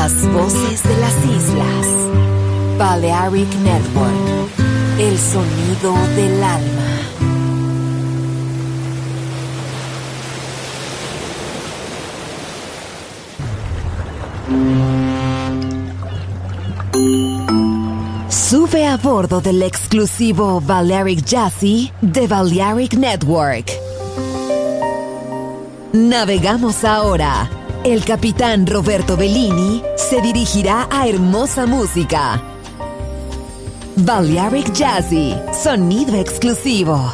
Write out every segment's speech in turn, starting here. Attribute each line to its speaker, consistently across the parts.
Speaker 1: Las voces de las islas. Balearic Network. El sonido del alma. Sube a bordo del exclusivo Balearic Jazzy de Balearic Network. Navegamos ahora. El capitán Roberto Bellini se dirigirá a hermosa música. Balearic Jazzy, sonido exclusivo.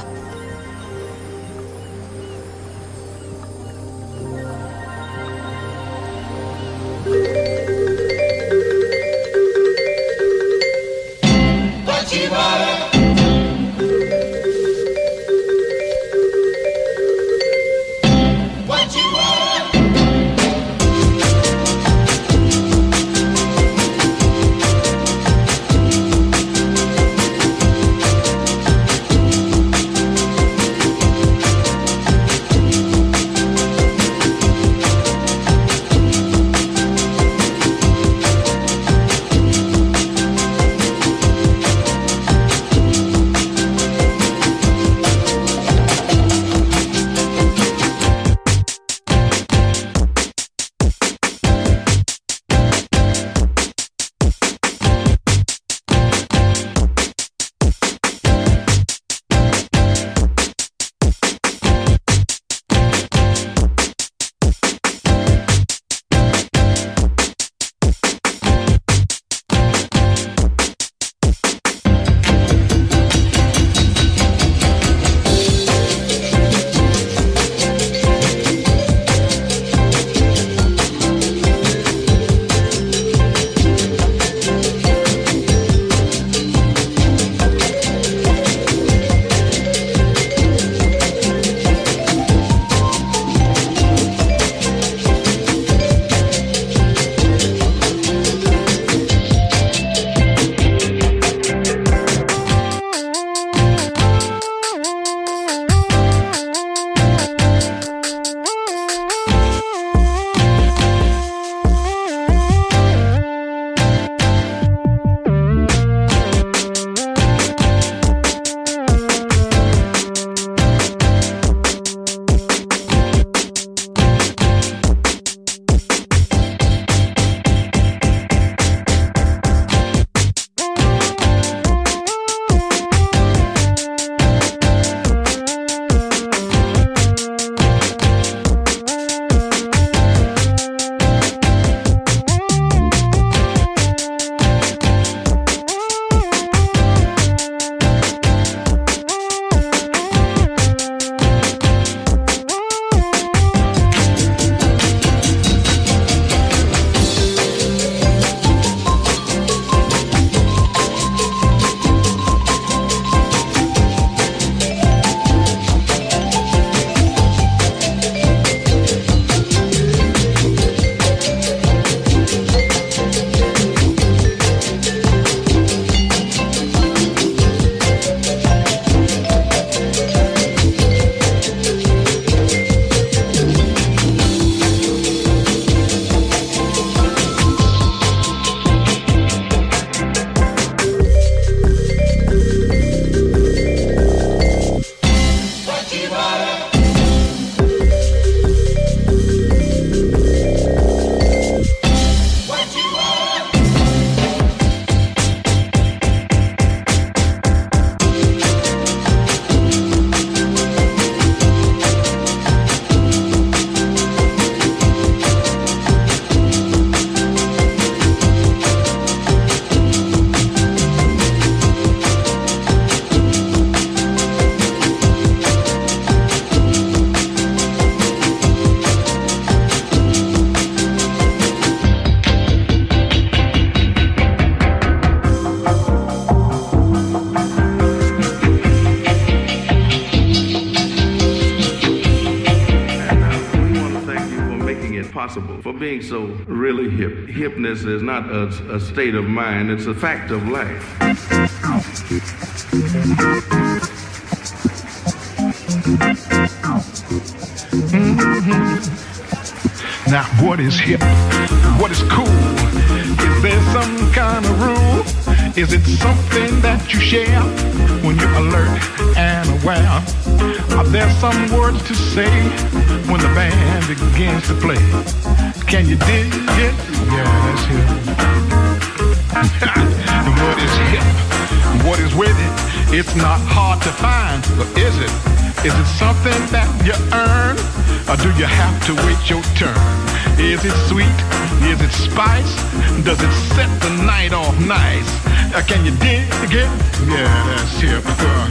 Speaker 2: possible for being so really hip. Hipness is not a state of mind, it's a fact of life.
Speaker 3: Now, what is hip? What is cool? some kind of rule? Is it something that you share when you're alert and aware? Are there some words to say when the band begins to play? Can you dig it? Yeah, that's hip. What is hip? What is with it? It's not hard to find, but is it? Is it something that you earn? Or do you have to wait your turn? Is it sweet? Is it spice? Does it set the night off nice? Can you dig it? Yeah, that's hip.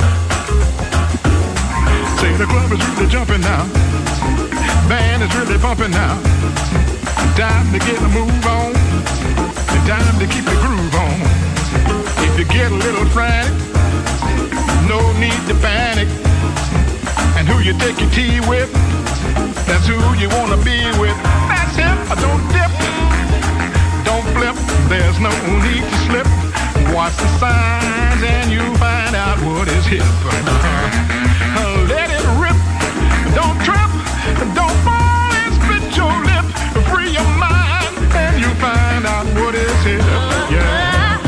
Speaker 3: Say the club is really jumping now. Band is really bumping now. Time to get a move on. And time to keep the groove on. If you get a little frantic, no need to panic. And who you take your tea with, that's who you wanna be with. That's hip. Don't dip, don't flip. There's no need to slip. Watch the signs and you find out what is hip. Let it rip. Don't trip. Don't fall and split your lip. Free your mind and you find out what is hip. Yeah.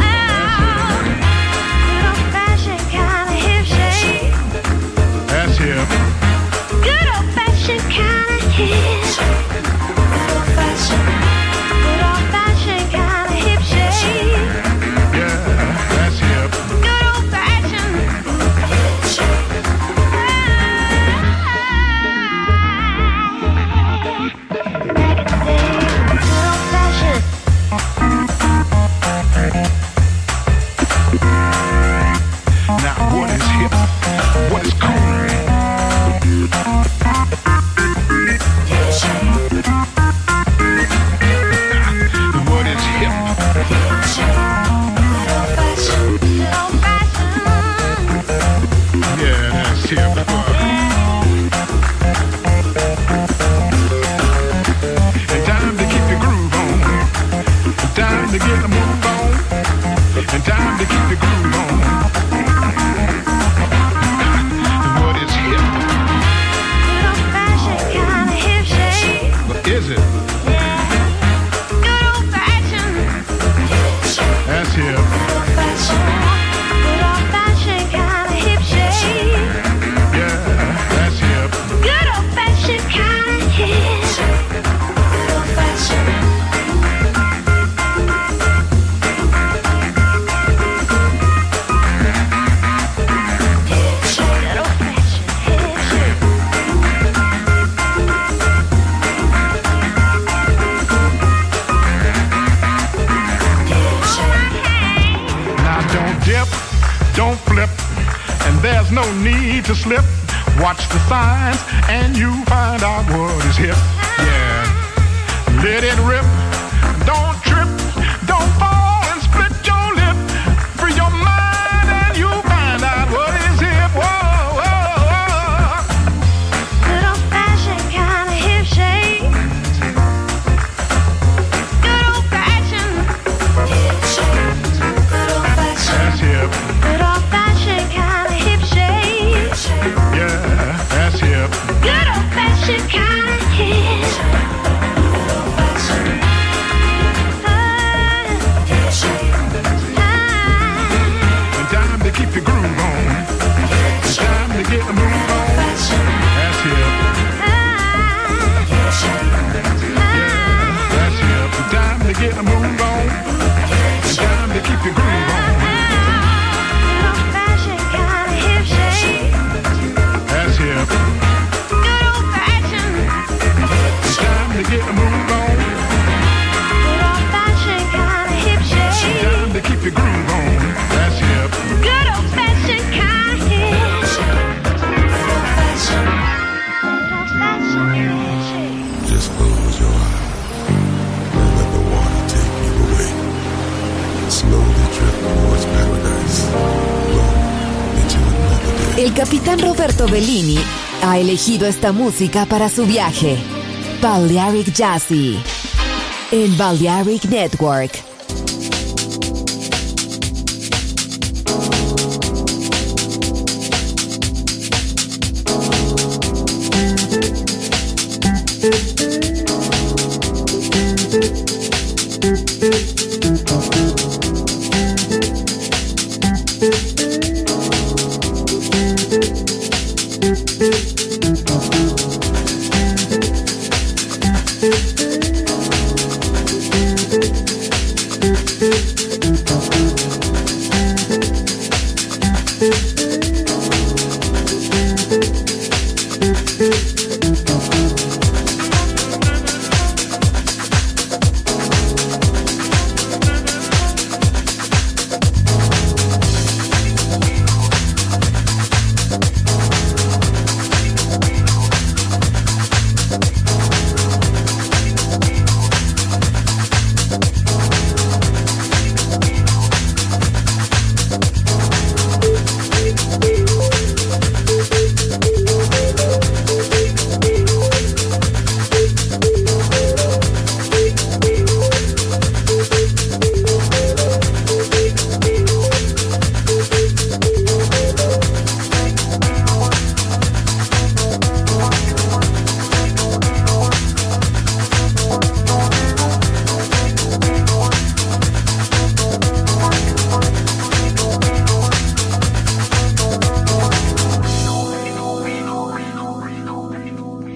Speaker 3: That's hip.
Speaker 4: Good old fashioned kind of hip. Good old fashioned kind of hip shake.
Speaker 3: Yeah, that's hip.
Speaker 4: Good old fashioned hip shake. Good old fashioned.
Speaker 3: Now what is hip? What is cool? What is hip? Yeah, that's hip. And time to keep the groove on. And time to get the move on. And time to keep the groove on. What is hip?
Speaker 4: Good old fashioned kind of hip shake.
Speaker 3: What is it?
Speaker 4: Good old fashioned hip shake.
Speaker 3: That's hip.
Speaker 4: Good old fashioned kind of hip shake.
Speaker 3: Yeah, that's hip.
Speaker 4: Good old fashioned kind of hip shake. Good old fashioned.
Speaker 3: Don't flip, and there's no need to slip. Watch the signs, and you find out what is hip. Yeah, let it rip. Don't trip, don't fall and split your lip. Free your mind, and you find out what is hip. Whoa, whoa, whoa.
Speaker 4: Good old fashioned kind of hip shake. Good old fashioned hip shake. Good old fashioned.
Speaker 3: That's hip.
Speaker 4: Good old fashioned kind of hip shake.
Speaker 3: Yeah, that's hip.
Speaker 4: Good old fashioned kind of hip. Good old fashioned.
Speaker 3: And time to keep the groove on. And time to get the move on. That's hip. That's hip. And time to get the move on. And time to keep the groove on. That's hip. It's time to get a move on. It's time to keep your groove on. That's hip.
Speaker 4: Good old fashioned kind of hip.
Speaker 5: Just close your eyes and let the water take you away. Slowly drift towards paradise. Flow into another day.
Speaker 1: El capitán Roberto Bellini ha elegido esta música para su viaje. Balearic Jazzy en Balearic Network.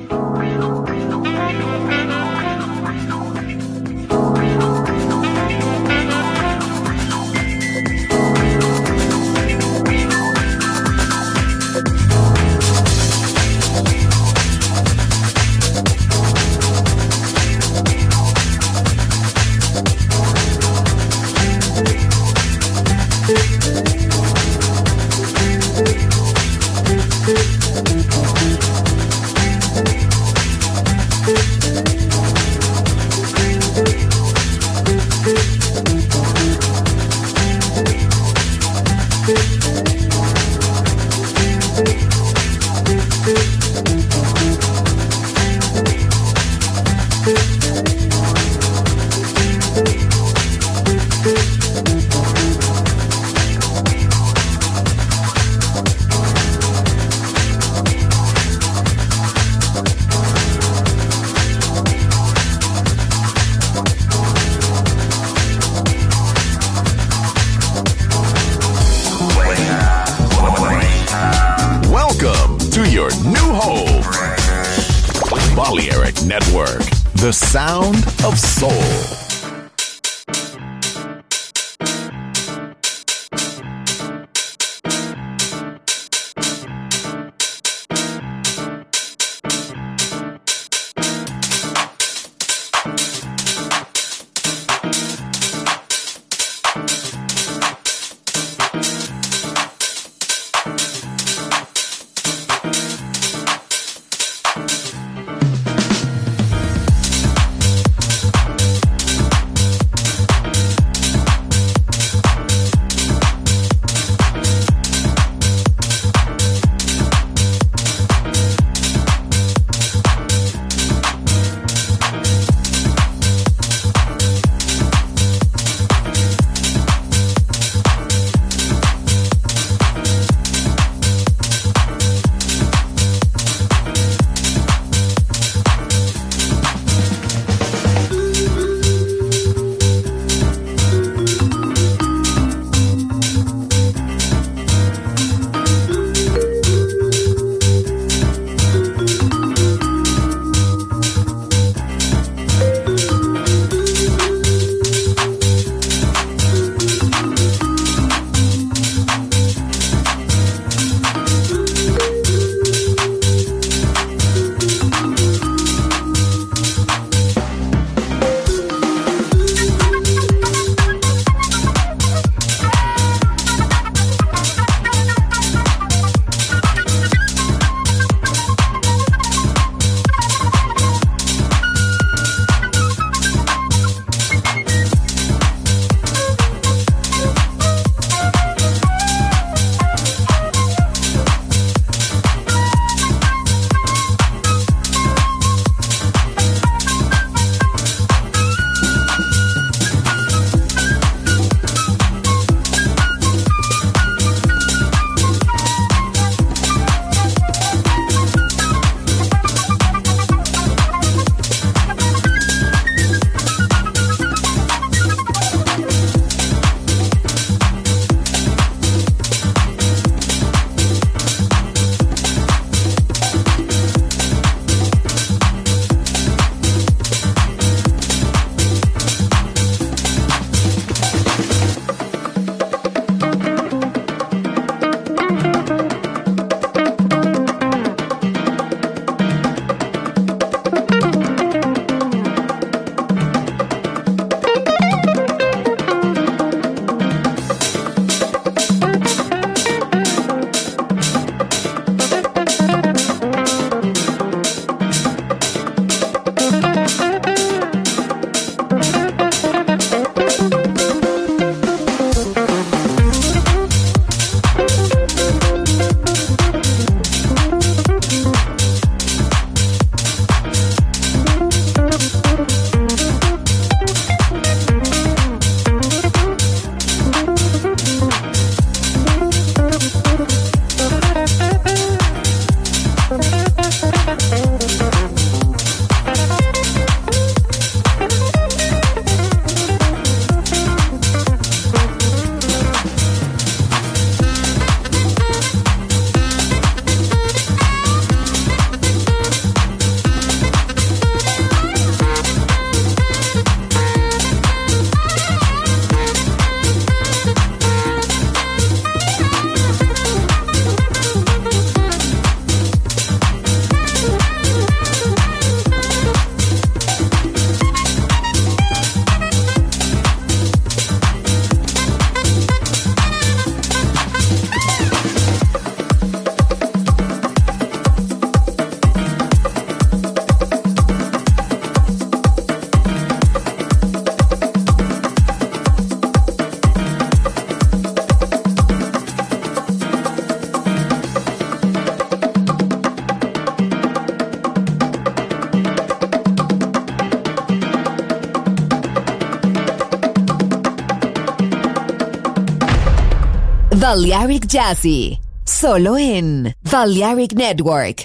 Speaker 6: Balearic Network, the sound of soul.
Speaker 1: Balearic Jazzy, solo en Balearic Network.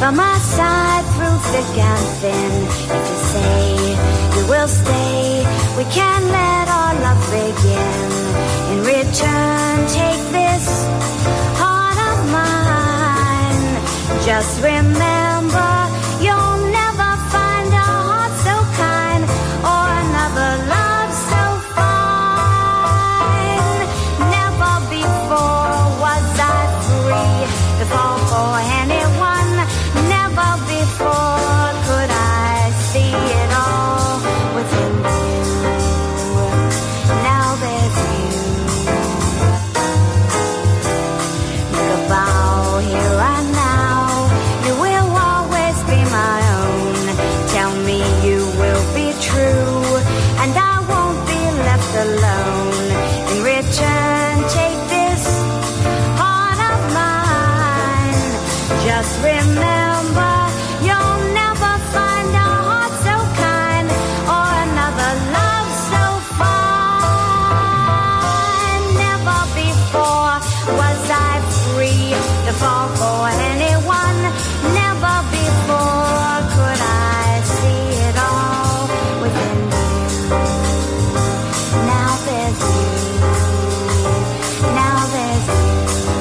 Speaker 7: by my side through thick and thin. If you say you will stay, we can let our love begin. In return, take this heart of mine. Just remember, you'll never find a heart so kind or another love so fine. Never before was I free to fall for anyone. Never before could I see it all within you. Now there's you. Make a vow here and now. You will always be my own. Tell me you will be true, and I won't be left alone. In return, take this heart of mine. Just remember, you'll never find a heart so kind or another love so fine. Never before was I free to fall for anyone. Never before could I see it all within you. Now there's you. Now there's you.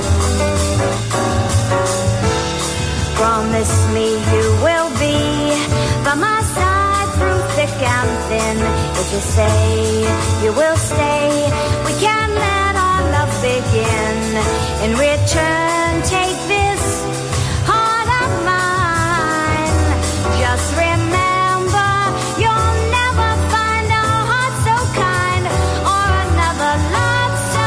Speaker 7: Promise me you will be by my side through thick and thin. If you say you will stay, we can let our love begin. In return, take this heart of mine. Just remember, you'll never find a heart so kind or another love so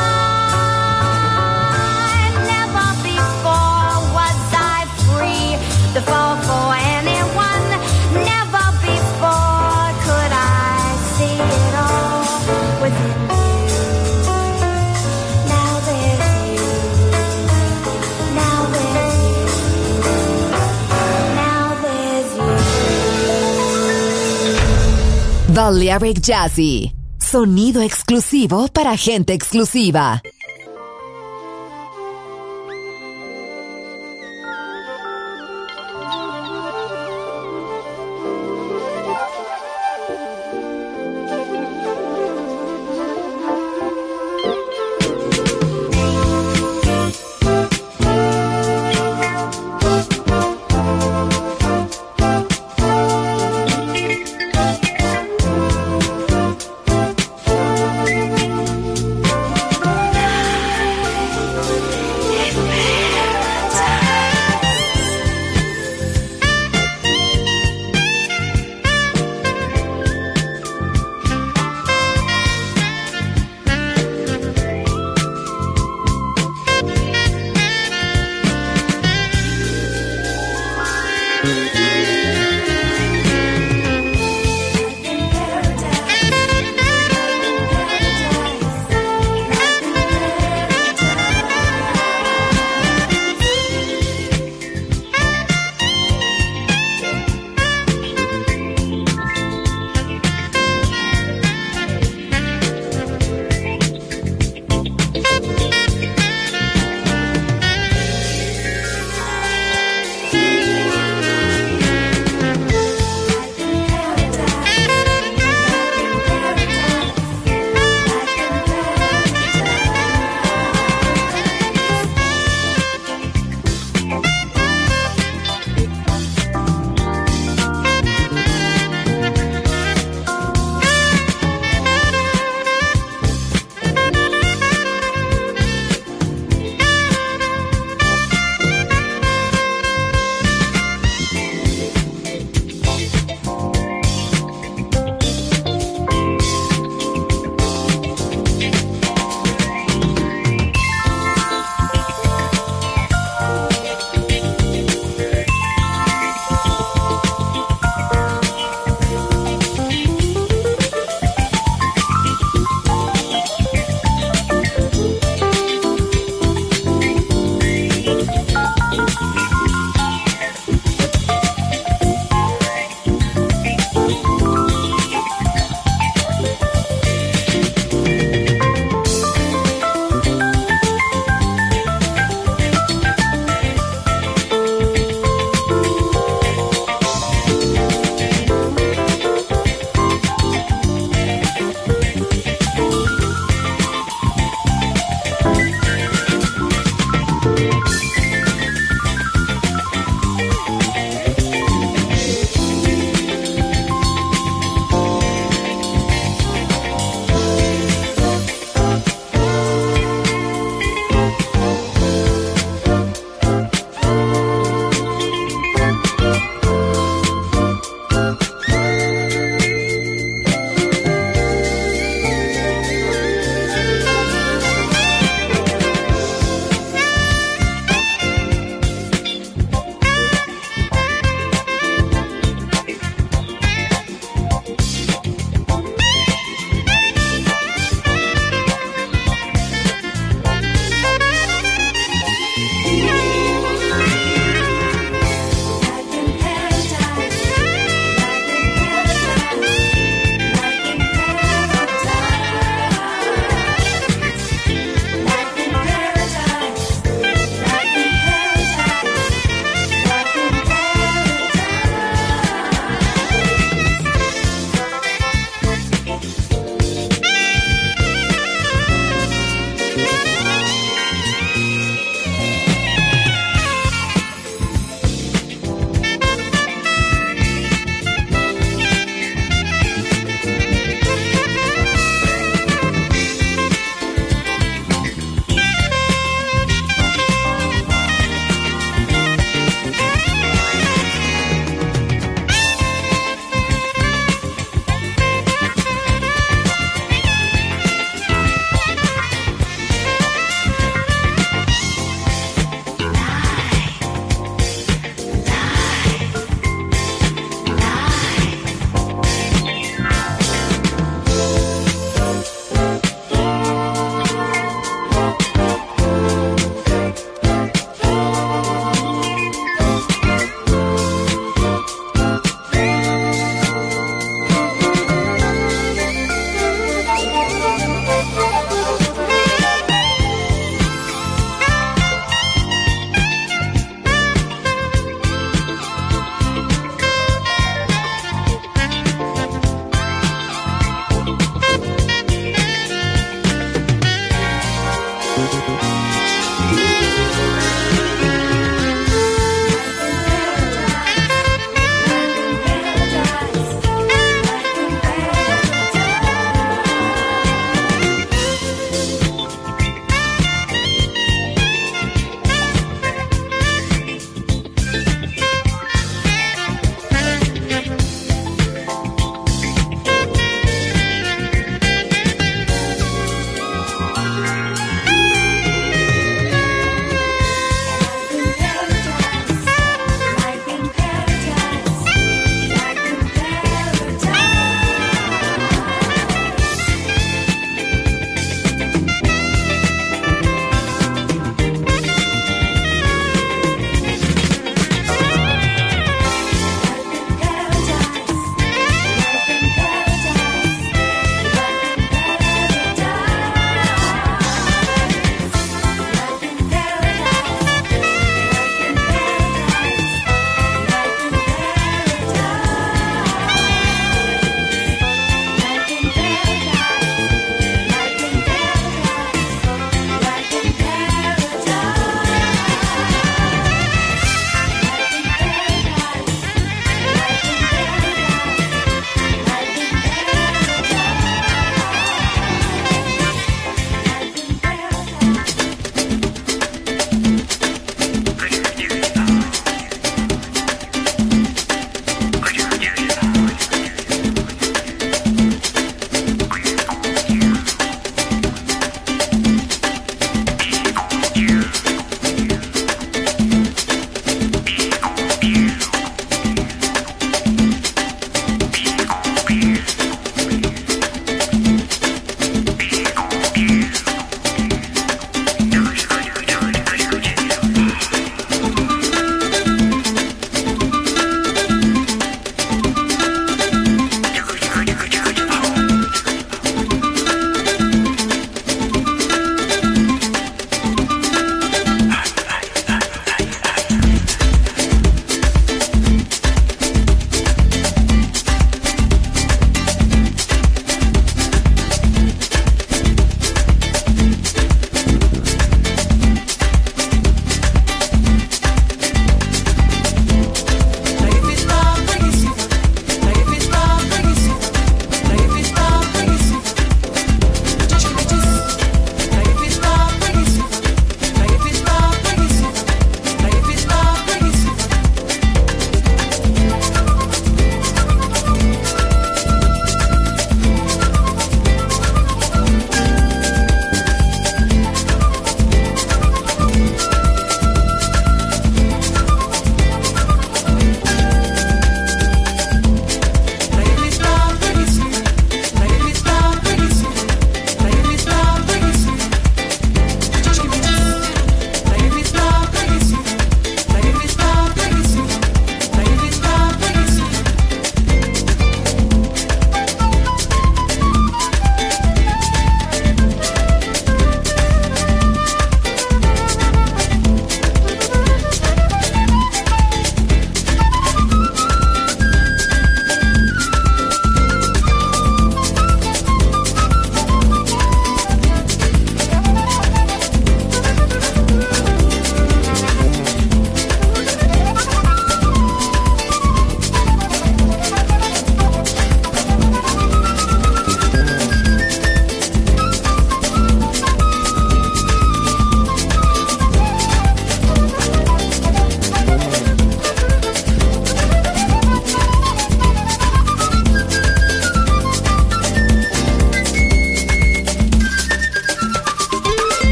Speaker 7: fine. Never before was I free to fall for anyone. Never before could I see it all within you. Now there's you. Now there's you. Now there's you.
Speaker 1: Balearic Jazzy, sonido exclusivo para gente exclusiva.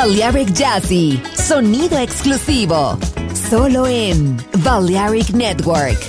Speaker 1: Balearic Jazzy, sonido exclusivo, solo en Balearic Network.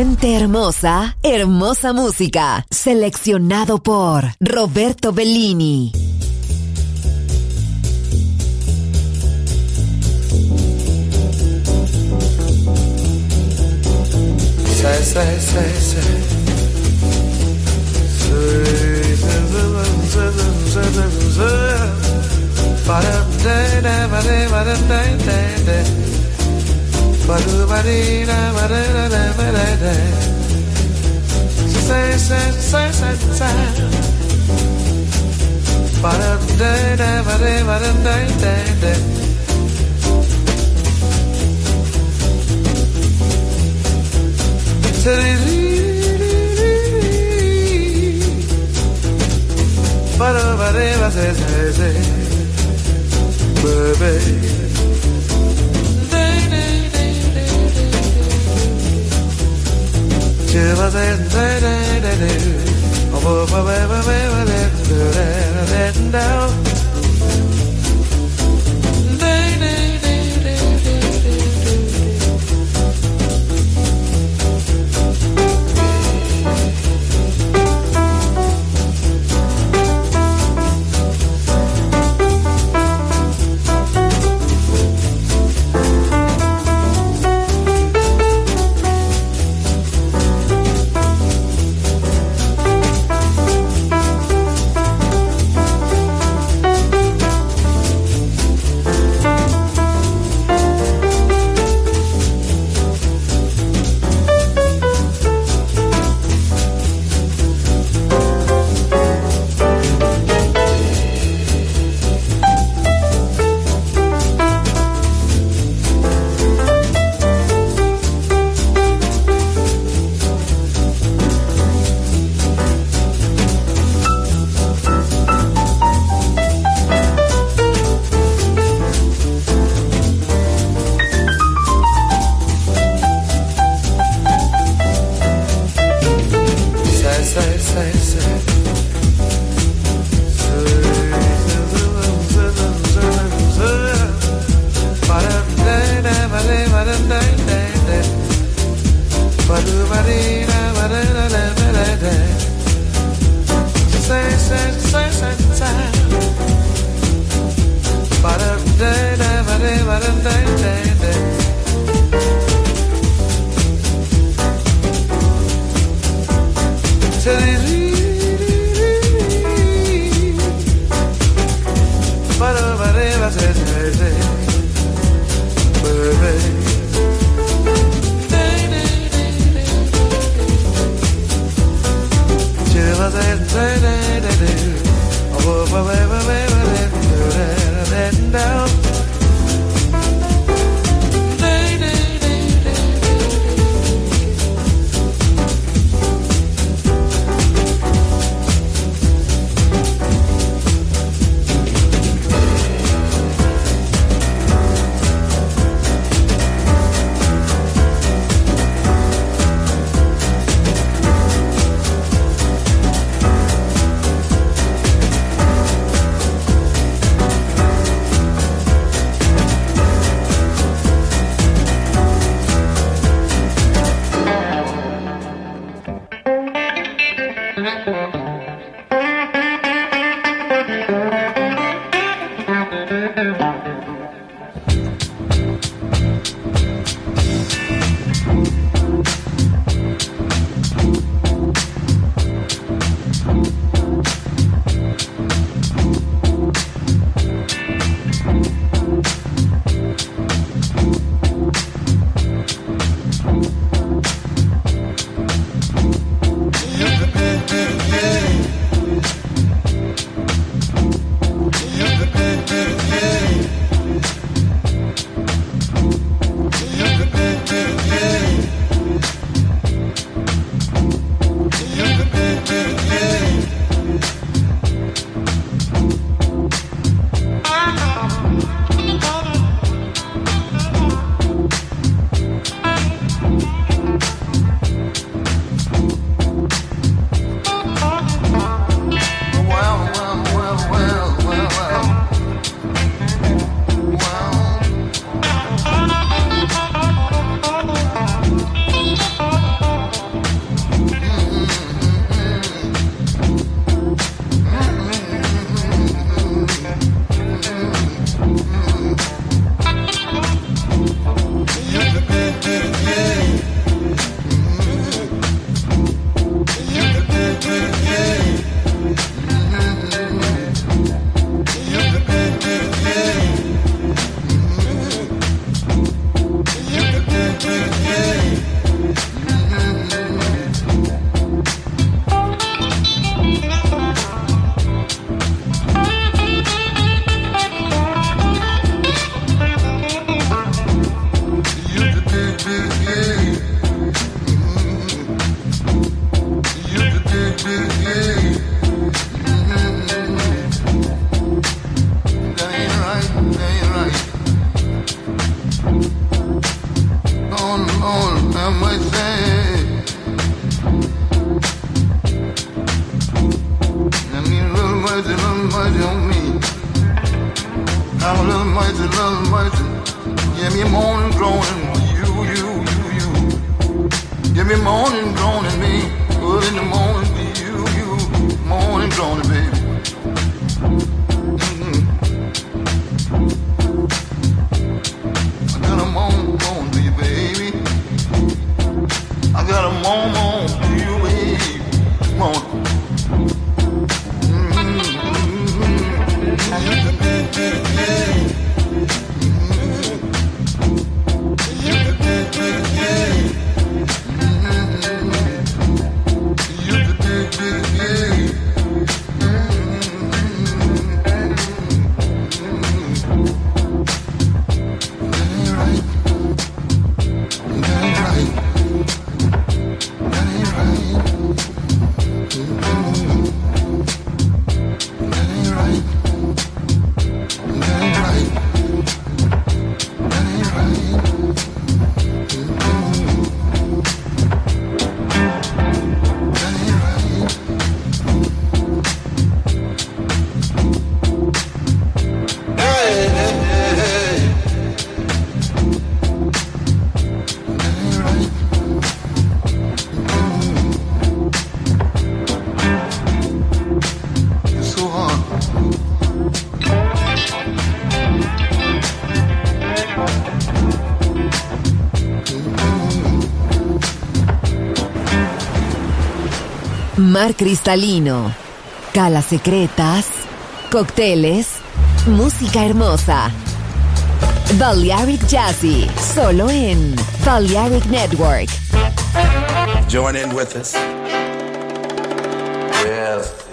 Speaker 1: Gente hermosa, hermosa música. Seleccionado por Roberto Bellini.
Speaker 8: mercy. Yeah, me moaning, groaning, you. Yeah, me moaning, groaning, me. Early in the morning, you. Moaning, groaning, baby. I got a moan to you, baby. I got a moan to you, baby. Moan.
Speaker 1: Mar cristalino, calas secretas, cócteles, música hermosa. Balearic Jazzy, solo en Balearic Network.
Speaker 9: Join in with us. Yes.